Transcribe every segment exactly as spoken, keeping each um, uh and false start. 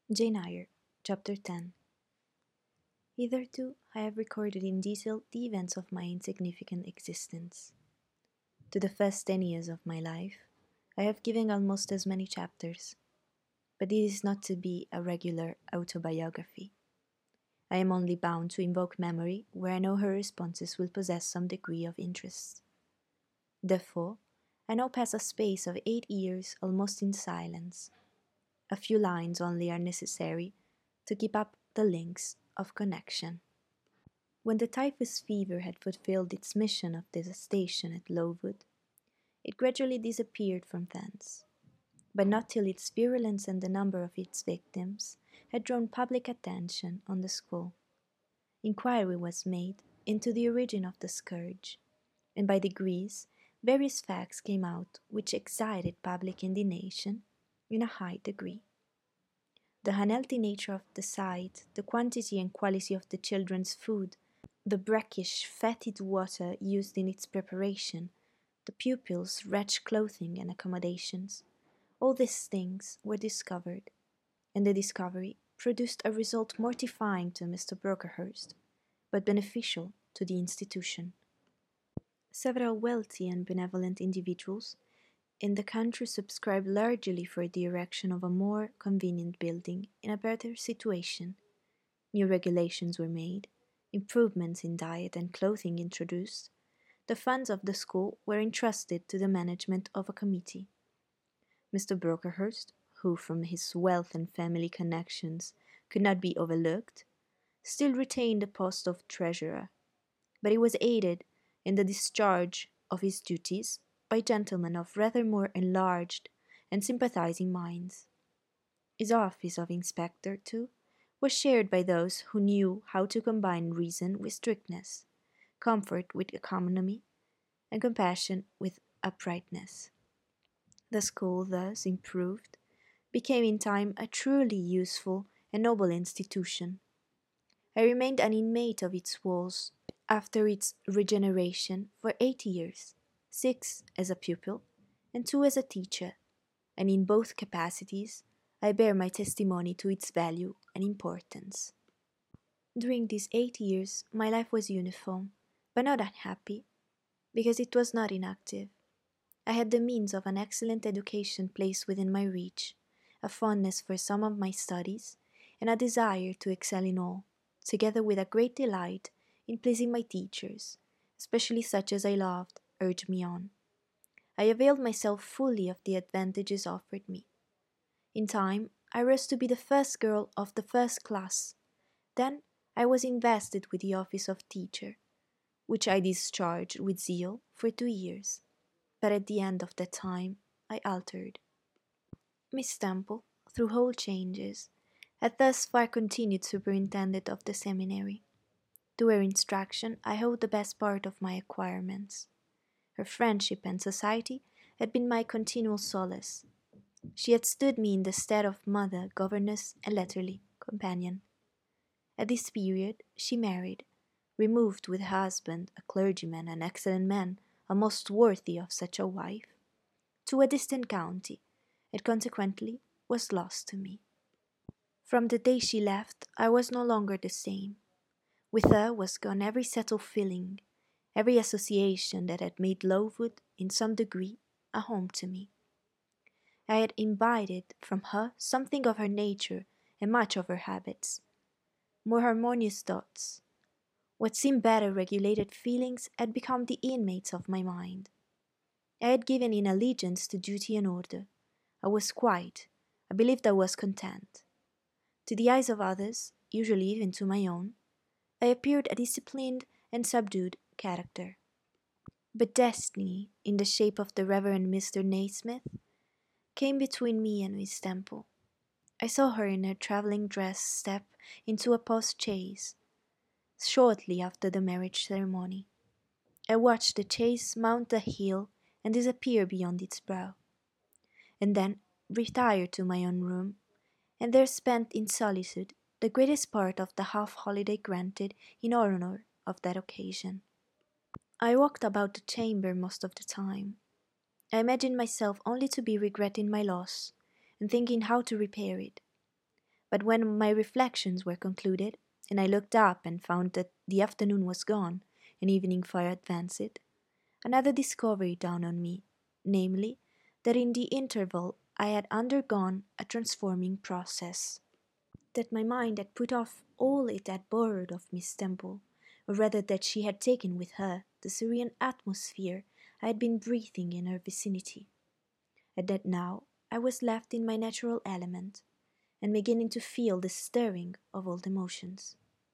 Jane Eyre, Chapter ten. Hitherto, I have recorded in detail the events of my insignificant existence. To the first ten years of my life, I have given almost as many chapters, but it is not to be a regular autobiography. I am only bound to invoke memory where I know her responses will possess some degree of interest. Therefore, I now pass a space of eight years almost in silence. A few lines only are necessary to keep up the links of connection. When the typhus fever had fulfilled its mission of devastation at Lowood, it gradually disappeared from thence, but not till its virulence and the number of its victims had drawn public attention on the school. Inquiry was made into the origin of the scourge, and by degrees various facts came out which excited public indignation in a high degree. The unhealthy nature of the site, the quantity and quality of the children's food, the brackish, fetid water used in its preparation, the pupils' wretched clothing and accommodations, all these things were discovered, and the discovery produced a result mortifying to Mister Brocklehurst, but beneficial to the institution. Several wealthy and benevolent individuals in the country subscribed largely for the erection of a more convenient building in a better situation. New regulations were made, improvements in diet and clothing introduced. The funds of the school were entrusted to the management of a committee. Mister Brocklehurst, who from his wealth and family connections could not be overlooked, still retained the post of treasurer, but he was aided in the discharge of his duties by gentlemen of rather more enlarged and sympathizing minds. His office of inspector, too, was shared by those who knew how to combine reason with strictness, comfort with economy, and compassion with uprightness. The school, thus improved, became in time a truly useful and noble institution. I remained an inmate of its walls after its regeneration for eight years, six as a pupil and two as a teacher, and in both capacities I bear my testimony to its value and importance. During these eight years my life was uniform, but not unhappy, because it was not inactive. I had the means of an excellent education placed within my reach, a fondness for some of my studies, and a desire to excel in all, together with a great delight in pleasing my teachers, especially such as I loved, urged me on. I availed myself fully of the advantages offered me. In time, I rose to be the first girl of the first class. Then I was invested with the office of teacher, which I discharged with zeal for two years. But at the end of that time I altered. Miss Temple, through whole changes, had thus far continued superintendent of the seminary. To her instruction I owed the best part of my acquirements. Her friendship and society had been my continual solace. She had stood me in the stead of mother, governess, and latterly companion. At this period she married, removed with her husband, a clergyman, an excellent man, a most worthy of such a wife, to a distant county, and consequently was lost to me. From the day she left I was no longer the same. With her was gone every settled feeling, every association that had made Lowood, in some degree, a home to me. I had imbibed from her something of her nature and much of her habits, more harmonious thoughts. What seemed better regulated feelings had become the inmates of my mind. I had given in allegiance to duty and order. I was quiet. I believed I was content. To the eyes of others, usually even to my own, I appeared a disciplined and subdued character. But destiny, in the shape of the Reverend Mister Naismith, came between me and Miss Temple. I saw her in her travelling dress step into a post-chaise, shortly after the marriage ceremony. I watched the chaise mount the hill and disappear beyond its brow, and then retired to my own room, and there spent in solitude the greatest part of the half-holiday granted in honour of that occasion. I walked about the chamber most of the time. I imagined myself only to be regretting my loss, and thinking how to repair it. But when my reflections were concluded, and I looked up and found that the afternoon was gone and evening far advanced, another discovery dawned on me, namely, that in the interval I had undergone a transforming process, that my mind had put off all it had borrowed of Miss Temple, or rather that she had taken with her the serene atmosphere I had been breathing in her vicinity, and that now I was left in my natural element, and beginning to feel the stirring of old emotions.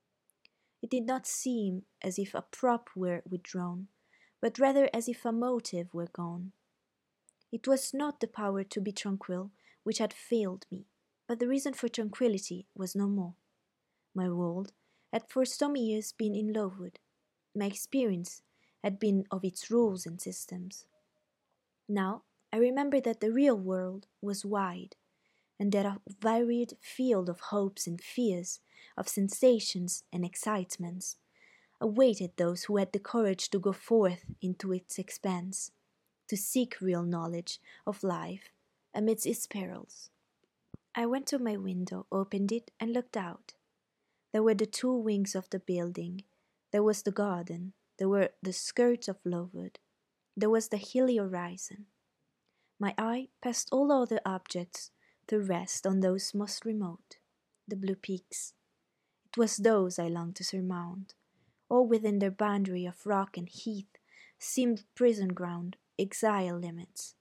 It did not seem as if a prop were withdrawn, but rather as if a motive were gone. It was not the power to be tranquil which had failed me, but the reason for tranquillity was no more. My world had for some years been in Lowood. My experience had been of its rules and systems. Now I remember that the real world was wide, and that a varied field of hopes and fears, of sensations and excitements, awaited those who had the courage to go forth into its expanse, to seek real knowledge of life amidst its perils. I went to my window, opened it, and looked out. There were the two wings of the building, there was the garden, there were the skirts of Lowood, there was the hilly horizon. My eye passed all other objects to rest on those most remote, the blue peaks. It was those I longed to surmount. All within their boundary of rock and heath seemed prison ground, exile limits.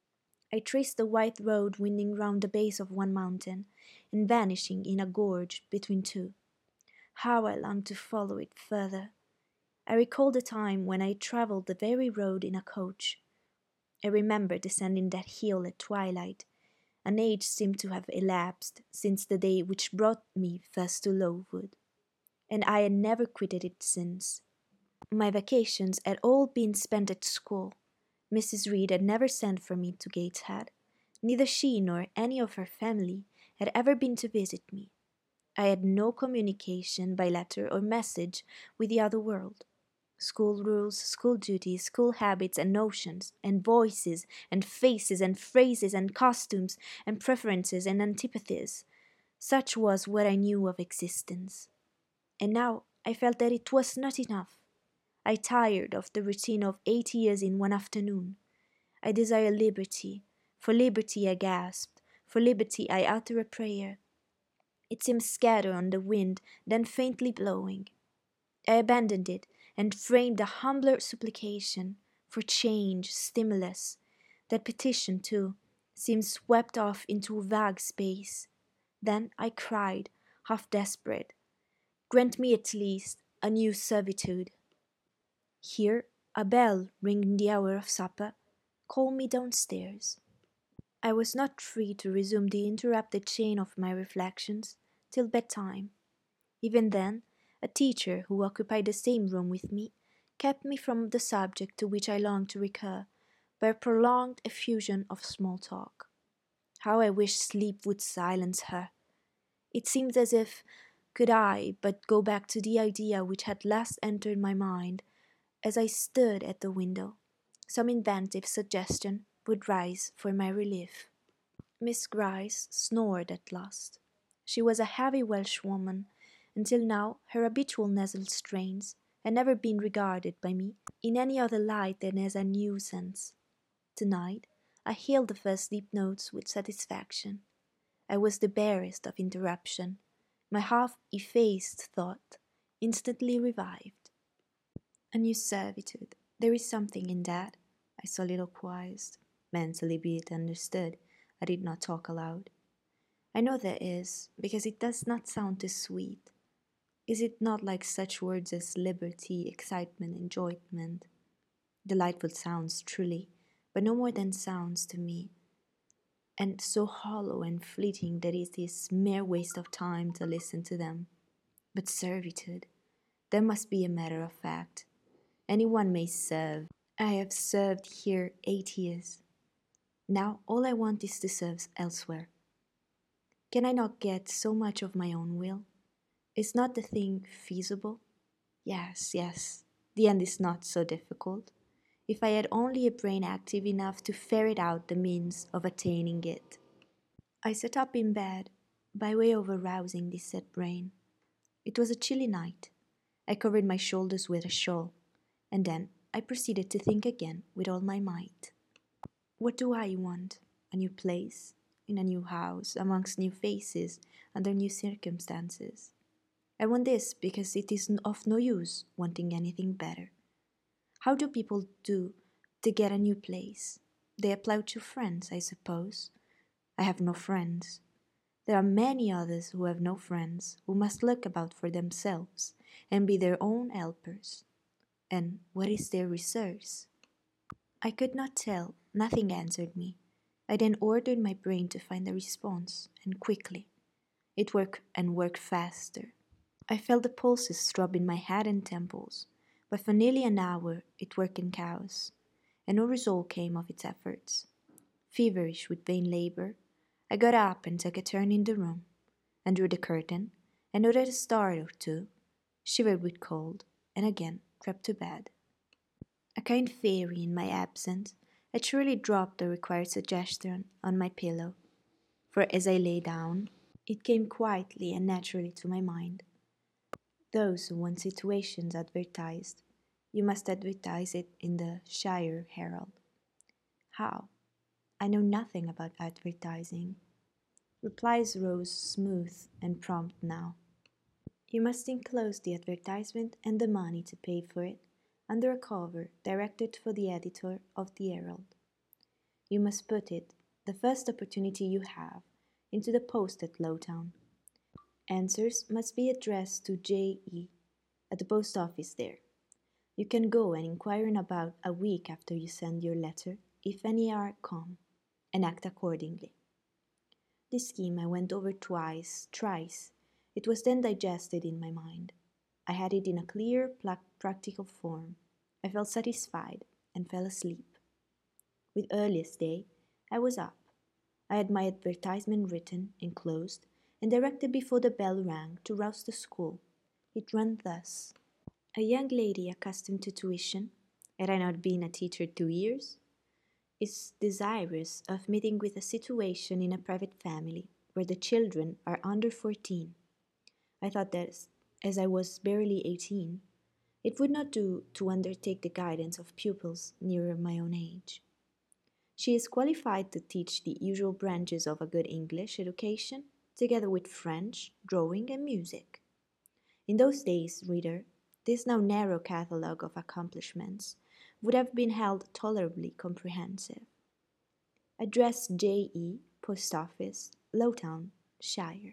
I traced the white road winding round the base of one mountain and vanishing in a gorge between two. How I longed to follow it further! I recalled the time when I travelled the very road in a coach. I remember descending that hill at twilight. An age seemed to have elapsed since the day which brought me first to Lowood, and I had never quitted it since. My vacations had all been spent at school. Missus Reed had never sent for me to Gateshead. Neither she nor any of her family had ever been to visit me. I had no communication by letter or message with the other world. School rules, school duties, school habits and notions, and voices, and faces, and phrases, and costumes, and preferences, and antipathies. Such was what I knew of existence. And now I felt that it was not enough. I tired of the routine of eight years in one afternoon. I desired liberty. For liberty I gasped. For liberty I uttered a prayer. It seemed scattered on the wind, then faintly blowing. I abandoned it and framed a humbler supplication for change, stimulus. That petition, too, seemed swept off into vague space. Then I cried, half desperate, grant me at least a new servitude. Here a bell, ringing the hour of supper, called me downstairs. I was not free to resume the interrupted chain of my reflections till bedtime. Even then, a teacher who occupied the same room with me kept me from the subject to which I longed to recur by a prolonged effusion of small talk. How I wished sleep would silence her! It seemed as if, could I but go back to the idea which had last entered my mind as I stood at the window, some inventive suggestion would rise for my relief. Miss Gryce snored at last. She was a heavy Welsh woman. Until now her habitual nasal strains had never been regarded by me in any other light than as a nuisance. Tonight I hailed the first deep notes with satisfaction. I was the barest of interruption. My half-effaced thought instantly revived. A new servitude. There is something in that, I soliloquized. Mentally be it understood, I did not talk aloud. I know there is, because it does not sound too sweet. Is it not like such words as liberty, excitement, enjoyment? Delightful sounds, truly, but no more than sounds to me, and so hollow and fleeting that it is mere waste of time to listen to them. But servitude, that must be a matter of fact. Any one may serve. I have served here eight years. Now all I want is to serve elsewhere. Can I not get so much of my own will? Is not the thing feasible? Yes, yes, the end is not so difficult, if I had only a brain active enough to ferret out the means of attaining it. I sat up in bed, by way of arousing this set brain. It was a chilly night. I covered my shoulders with a shawl, and then I proceeded to think again with all my might. What do I want? A new place, in a new house, amongst new faces, under new circumstances. I want this because it is of no use wanting anything better. How do people do to get a new place? They apply to friends, I suppose. I have no friends. There are many others who have no friends, who must look about for themselves and be their own helpers. And what is their resource? I could not tell. Nothing answered me. I then ordered my brain to find a response, and quickly. It worked and worked faster. I felt the pulses throb in my head and temples, but for nearly an hour it worked in chaos, and no result came of its efforts. Feverish with vain labor, I got up and took a turn in the room, and drew the curtain, and noted a star or two, shivered with cold, and again crept to bed. A kind fairy in my absence had surely dropped the required suggestion on my pillow, for as I lay down, it came quietly and naturally to my mind. Those who want situations advertised, you must advertise it in the Shire Herald. How? I know nothing about advertising. Replies rose smooth and prompt now. You must enclose the advertisement and the money to pay for it under a cover directed for the editor of the Herald. You must put it, the first opportunity you have, into the post at Lowtown. Answers must be addressed to J E at the post office there. You can go and inquire in about a week after you send your letter, if any are come, and act accordingly. This scheme I went over twice, thrice. It was then digested in my mind. I had it in a clear, pla- practical form. I felt satisfied, and fell asleep. With earliest day, I was up. I had my advertisement written, enclosed, and directed before the bell rang to rouse the school. It ran thus. A young lady accustomed to tuition, had I not been a teacher two years, is desirous of meeting with a situation in a private family where the children are under fourteen. I thought that, as I was barely eighteen, it would not do to undertake the guidance of pupils nearer my own age. She is qualified to teach the usual branches of a good English education, together with French, drawing, and music. In those days, reader, this now narrow catalogue of accomplishments would have been held tolerably comprehensive. Address J E, Post Office, Lowtown, Shire.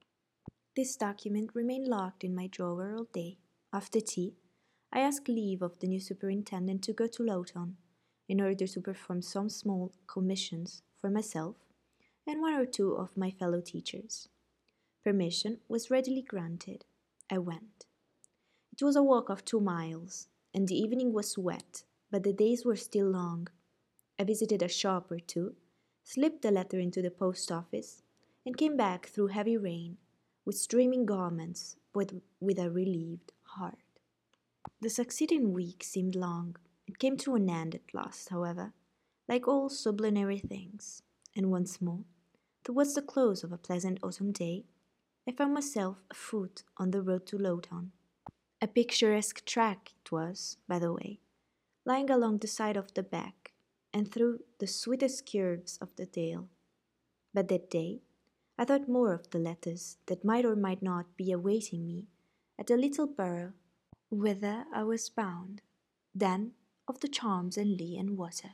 This document remained locked in my drawer all day. After tea, I asked leave of the new superintendent to go to Lowtown, in order to perform some small commissions for myself and one or two of my fellow teachers. Permission was readily granted. I went. It was a walk of two miles, and the evening was wet, but the days were still long. I visited a shop or two, slipped the letter into the post office, and came back through heavy rain, with streaming garments, but with a relieved heart. The succeeding week seemed long. It came to an end at last, however, like all sublunary things, and once more, towards the close of a pleasant autumn day, I found myself afoot on the road to Lowtown. A picturesque track it was, by the way, lying along the side of the beck, and through the sweetest curves of the dale. But that day, I thought more of the letters that might or might not be awaiting me at the little borough whither I was bound, than of the charms and lee and water.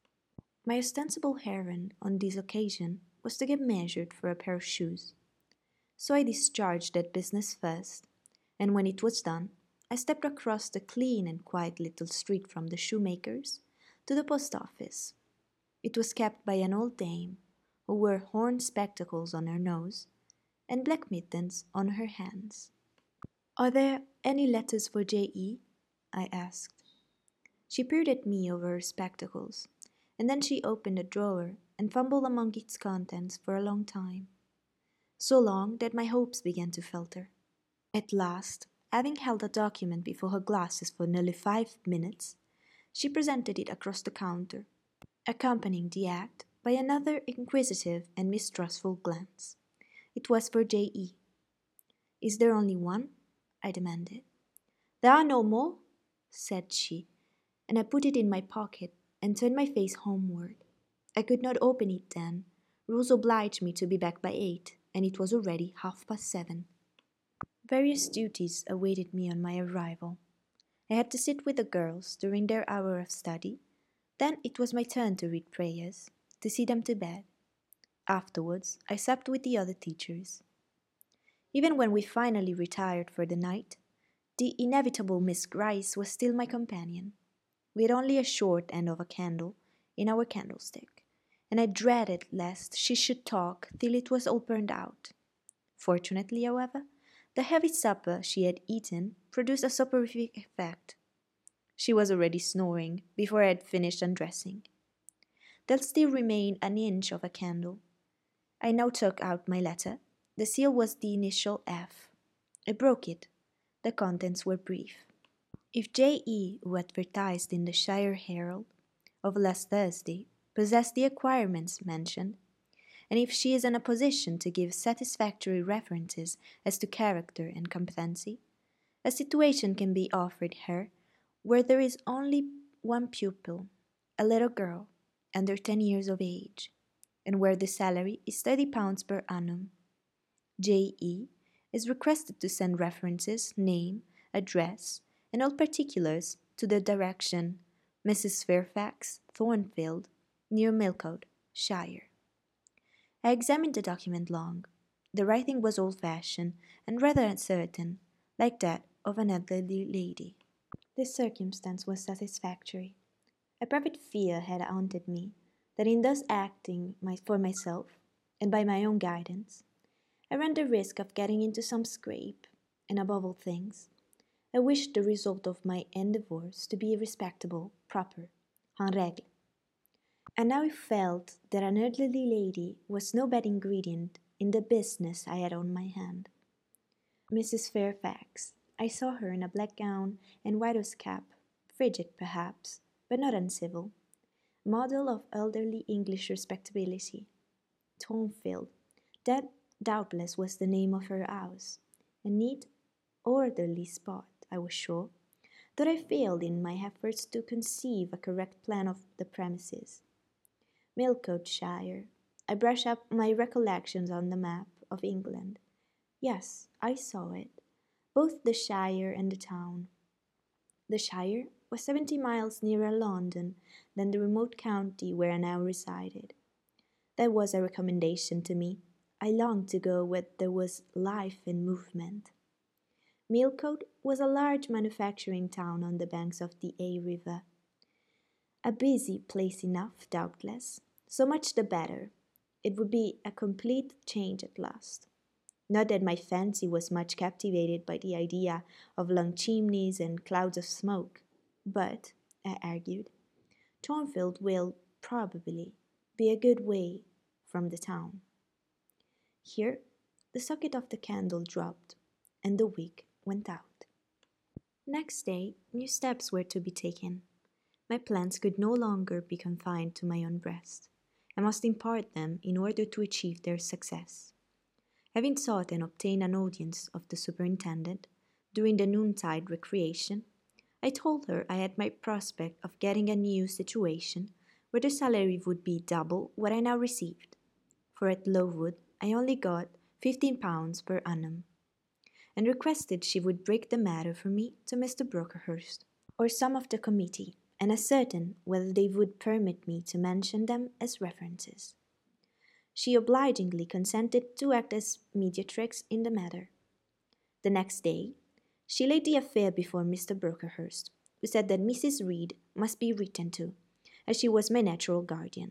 My ostensible errand on this occasion was to get measured for a pair of shoes. So I discharged that business first, and when it was done, I stepped across the clean and quiet little street from the shoemaker's to the post office. It was kept by an old dame, who wore horn spectacles on her nose and black mittens on her hands. "Are there any letters for J E?" I asked. She peered at me over her spectacles, and then she opened a drawer and fumbled among its contents for a long time. So long that my hopes began to falter. At last, having held a document before her glasses for nearly five minutes, she presented it across the counter, accompanying the act by another inquisitive and mistrustful glance, It was for J E. Is there only one? I demanded. There are no more, said she, and I put it in my pocket and turned my face homeward. I could not open it then. Rules obliged me to be back by eight, and it was already half past seven. Various duties awaited me on my arrival. I had to sit with the girls during their hour of study. Then it was my turn to read prayers, to see them to bed. Afterwards, I supped with the other teachers. Even when we finally retired for the night, the inevitable Miss Gryce was still my companion. We had only a short end of a candle in our candlestick, and I dreaded lest she should talk till it was all burned out. Fortunately, however, the heavy supper she had eaten produced a soporific effect. She was already snoring before I had finished undressing. There still remained an inch of a candle. I now took out my letter. The seal was the initial F. I broke it. The contents were brief. If J E, who advertised in the Shire Herald of last Thursday, possessed the acquirements mentioned, and if she is in a position to give satisfactory references as to character and competency, a situation can be offered her where there is only one pupil, a little girl, under ten years of age, and where the salary is thirty pounds per annum. J E is requested to send references, name, address, and all particulars to the direction Missus Fairfax, Thornfield, near Millcote, Shire. I examined the document long. The writing was old-fashioned and rather uncertain, like that of an elderly lady. This circumstance was satisfactory. A private fear had haunted me that in thus acting my, for myself, and by my own guidance, I ran the risk of getting into some scrape, and above all things, I wished the result of my endeavours to be respectable, proper, en règle. And now I felt that an elderly lady was no bad ingredient in the business I had on my hand. Missus Fairfax, I saw her in a black gown and widow's cap, frigid perhaps, but not uncivil, model of elderly English respectability. Thornfield, that doubtless was the name of her house, a neat, orderly spot, I was sure, though I failed in my efforts to conceive a correct plan of the premises. Millcote Shire. I brushed up my recollections on the map of England. Yes, I saw it, both the shire and the town. The shire was seventy miles nearer London than the remote county where I now resided. That was a recommendation to me. I longed to go where there was life and movement. Millcote was a large manufacturing town on the banks of the A River. A busy place enough, doubtless. So much the better. It would be a complete change at last. Not that my fancy was much captivated by the idea of long chimneys and clouds of smoke, but, I argued, Thornfield will, probably, be a good way from the town. Here, the socket of the candle dropped, and the wick went out. Next day, new steps were to be taken. My plans could no longer be confined to my own breast. I must impart them in order to achieve their success. Having sought and obtained an audience of the superintendent during the noontide recreation, I told her I had my prospect of getting a new situation where the salary would be double what I now received, for at Lowood I only got fifteen pounds per annum, and requested she would break the matter for me to Mister Brocklehurst, or some of the committee, and ascertain whether they would permit me to mention them as references. She obligingly consented to act as mediatrix in the matter. The next day, she laid the affair before Mister Brocklehurst, who said that Missus Reed must be written to, as she was my natural guardian.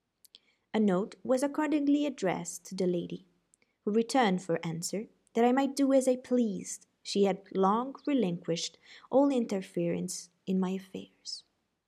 A note was accordingly addressed to the lady, who returned for answer that I might do as I pleased. She had long relinquished all interference in my affairs.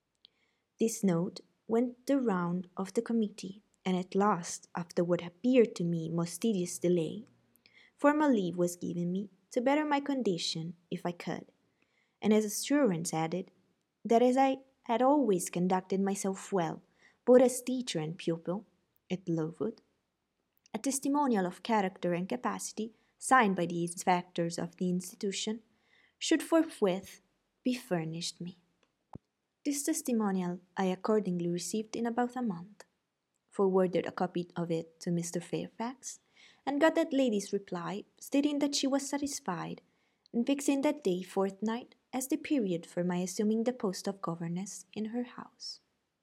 This note went the round of the committee, and at last, after what appeared to me most tedious delay, formal leave was given me to better my condition if I could, and as assurance added that as I had always conducted myself well, both as teacher and pupil, at Lowood, A testimonial of character and capacity, signed by the inspectors of the institution, should forthwith be furnished me. This testimonial I accordingly received in about a month, forwarded a copy of it to Mister Fairfax, and got that lady's reply stating that she was satisfied, and fixing that day fortnight as the period for my assuming the post of governess in her house.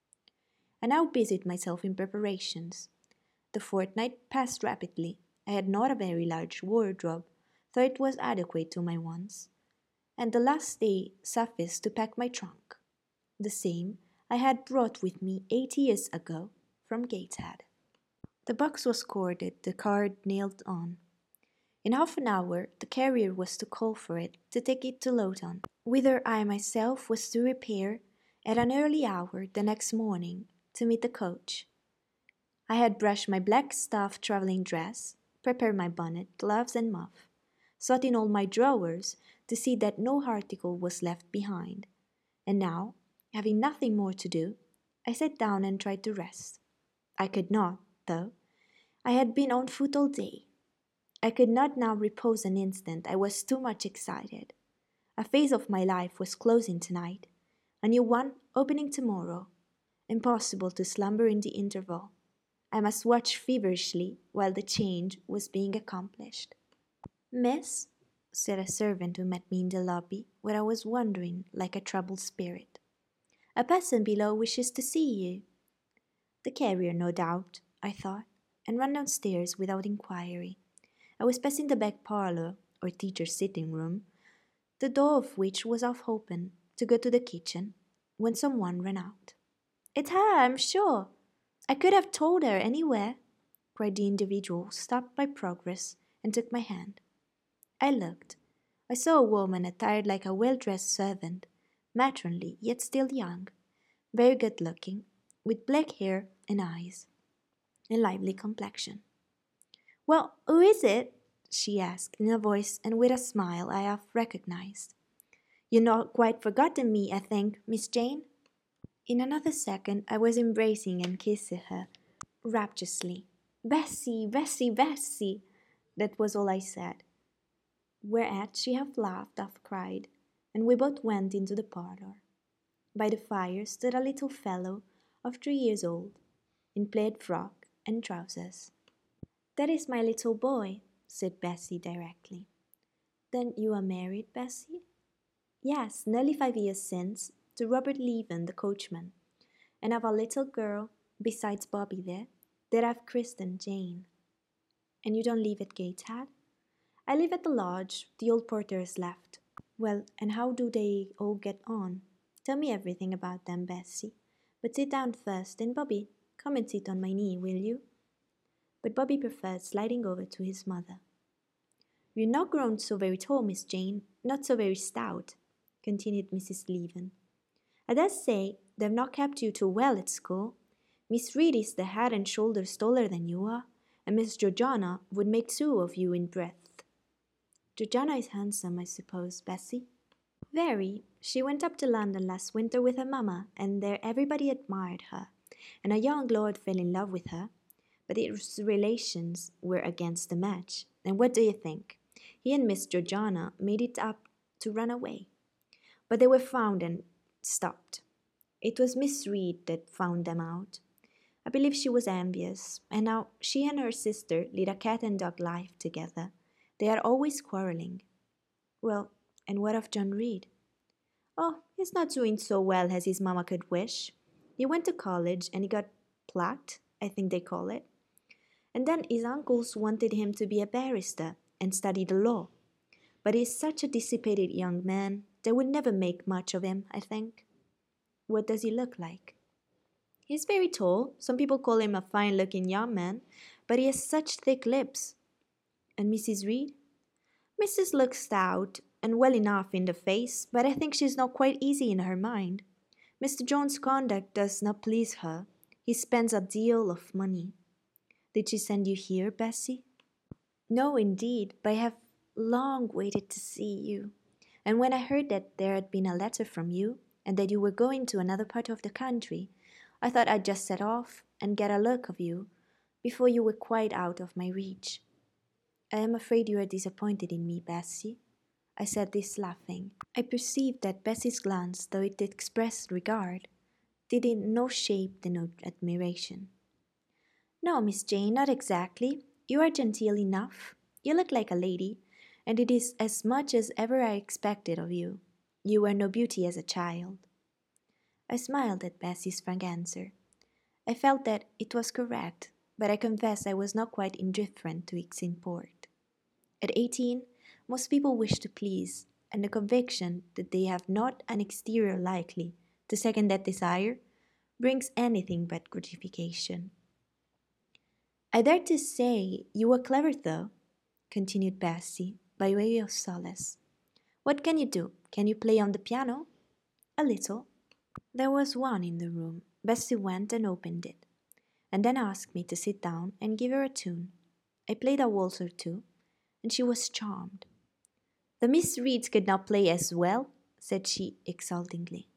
I now busied myself in preparations. The fortnight passed rapidly. I had not a very large wardrobe, though it was adequate to my wants, and the last day sufficed to pack my trunk, the same I had brought with me eight years ago from Gateshead. The box was corded, the card nailed on. In half an hour the carrier was to call for it to take it to Lowton, whither I myself was to repair at an early hour the next morning to meet the coach. I had brushed my black stuff travelling dress, prepared my bonnet, gloves, and muff, sought in all my drawers to see that no article was left behind, and now, having nothing more to do, I sat down and tried to rest. I could not, though. I had been on foot all day. I could not now repose an instant, I was too much excited. A phase of my life was closing tonight, a new one opening tomorrow. Impossible to slumber in the interval. I must watch feverishly while the change was being accomplished. "Miss," said a servant who met me in the lobby, where I was wandering like a troubled spirit, "a person below wishes to see you." The carrier, no doubt, I thought, and ran downstairs without inquiry. I was passing the back parlour, or teacher's sitting room, the door of which was half open, to go to the kitchen, when some one ran out. "It's her, I'm sure. I could have told her anywhere," cried the individual, stopped by progress, and took my hand. I looked. I saw a woman attired like a well-dressed servant, matronly, yet still young, very good-looking, with black hair and eyes, and lively complexion. "Well, who is it?" she asked, in a voice and with a smile I half recognized. "You've not quite forgotten me, I think, Miss Jane?" In another second I was embracing and kissing her rapturously. "Bessy, Bessy, Bessy!" That was all I said. Whereat she half laughed, half cried, and we both went into the parlour. By the fire stood a little fellow of three years old, in plaid frock and trousers. "That is my little boy," said Bessy directly. "Then you are married, Bessy?" "Yes, nearly five years since, to Robert Leaven, the coachman, and have a little girl, besides Bobby there, that I've christened Jane." "And you don't live at Gateshead?" "I live at the lodge. The old porter has left." "Well, and how do they all get on? Tell me everything about them, Bessy. But sit down first, and Bobby, come and sit on my knee, will you?" But Bobby preferred sliding over to his mother. "You're not grown so very tall, Miss Jane, not so very stout," continued Missus Leaven. "I dare say they've not kept you too well at school. Miss Reed is the head and shoulders taller than you are, and Miss Georgiana would make two of you in breadth." "Georgiana is handsome, I suppose, Bessy?" "Very. She went up to London last winter with her mamma, and there everybody admired her, and a young lord fell in love with her, but his relations were against the match, and what do you think? He and Miss Georgiana made it up to run away. But they were found and stopped. It was Miss Reed that found them out. I believe she was envious, and now she and her sister lead a cat and dog life together. They are always quarrelling." "Well, and what of John Reed?" "Oh, he's not doing so well as his mamma could wish. He went to college, and he got plucked, I think they call it. And then his uncles wanted him to be a barrister and study the law. But he's such a dissipated young man, they would never make much of him, I think." "What does he look like?" "He's very tall. Some people call him a fine-looking young man, but he has such thick lips." "And Missus Reed?" "Missus looks stout and well enough in the face, but I think she's not quite easy in her mind. Mister John's conduct does not please her. He spends a deal of money." "Did she send you here, Bessy?" "No, indeed, but I have long waited to see you, and when I heard that there had been a letter from you, and that you were going to another part of the country, I thought I'd just set off and get a look of you, before you were quite out of my reach. I am afraid you are disappointed in me, Bessie. I said this laughing. I perceived that Bessie's glance, though it expressed regard, did in no shape denote admiration. No, Miss Jane, not exactly. You are genteel enough. You look like a lady, and it is as much as ever I expected of you. You were no beauty as a child. I smiled at Bessie's frank answer. I felt that it was correct, but I confess I was not quite indifferent to its import. At eighteen, most people wish to please, and the conviction that they have not an exterior likely to second that desire brings anything but gratification. I dare to say you were clever, though, continued Bessie, by way of solace. What can you do? Can you play on the piano? A little. There was one in the room. Bessie went and opened it, and then asked me to sit down and give her a tune. I played a waltz or two, and she was charmed. The Miss Reeds could not play as well, said she exultingly.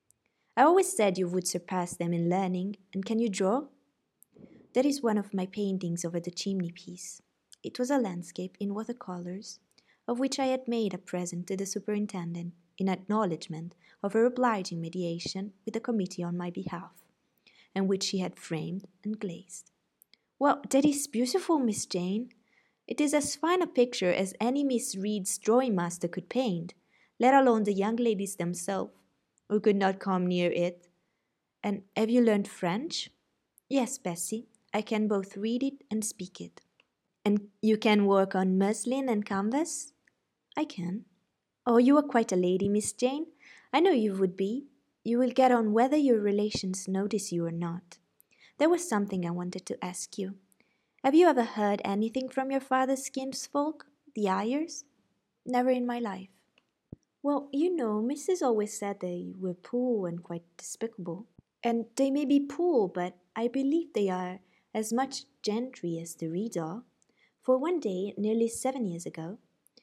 I always said you would surpass them in learning, and can you draw? That is one of my paintings over the chimney-piece. It was a landscape in watercolors, of which I had made a present to the superintendent in acknowledgment of her obliging mediation with the committee on my behalf, and which she had framed and glazed. Well, that is beautiful, Miss Jane. It is as fine a picture as any Miss Reed's drawing master could paint, let alone the young ladies themselves, who could not come near it. And have you learned French? Yes, Bessie, I can both read it and speak it. And you can work on muslin and canvas? I can. Oh, you are quite a lady, Miss Jane. I know you would be. You will get on whether your relations notice you or not. There was something I wanted to ask you. Have you ever heard anything from your father's kinsfolk, the Ayers? Never in my life. Well, you know, Missus always said they were poor and quite despicable. And they may be poor, but I believe they are as much gentry as the Reeds are. For one day, nearly seven years ago,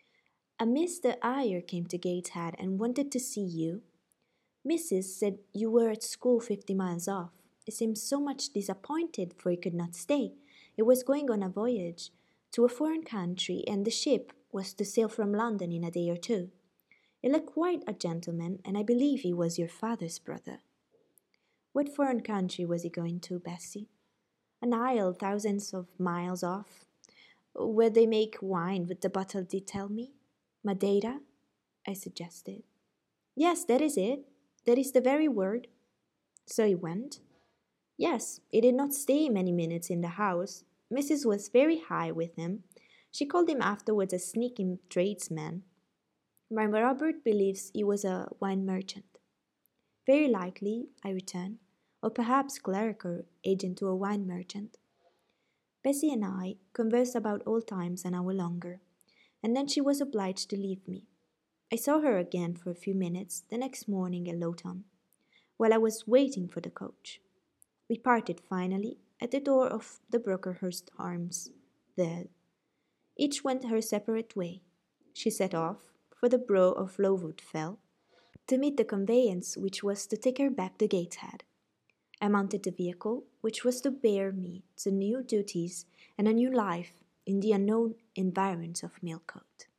a Mister Ayer came to Gateshead and wanted to see you. Missus said you were at school fifty miles off. He seemed so much disappointed, for he could not stay. He was going on a voyage to a foreign country, and the ship was to sail from London in a day or two. He looked quite a gentleman, and I believe he was your father's brother. What foreign country was he going to, Bessie? An isle thousands of miles off, where they make wine with the bottle, did tell me. Madeira? I suggested. Yes, that is it. That is the very word. So he went? Yes, he did not stay many minutes in the house. Missus was very high with him. She called him afterwards a sneaking tradesman. My Robert believes he was a wine merchant. Very likely, I returned, or perhaps clerk or agent to a wine merchant. Bessie and I conversed about old times an hour longer, and then she was obliged to leave me. I saw her again for a few minutes the next morning at Lowton, while I was waiting for the coach. We parted finally at the door of the Brocklehurst Arms. There, each went her separate way. She set off for the Brow of Lowood Fell to meet the conveyance which was to take her back to Gateshead. I mounted the vehicle which was to bear me to new duties and a new life in the unknown environs of Millcote.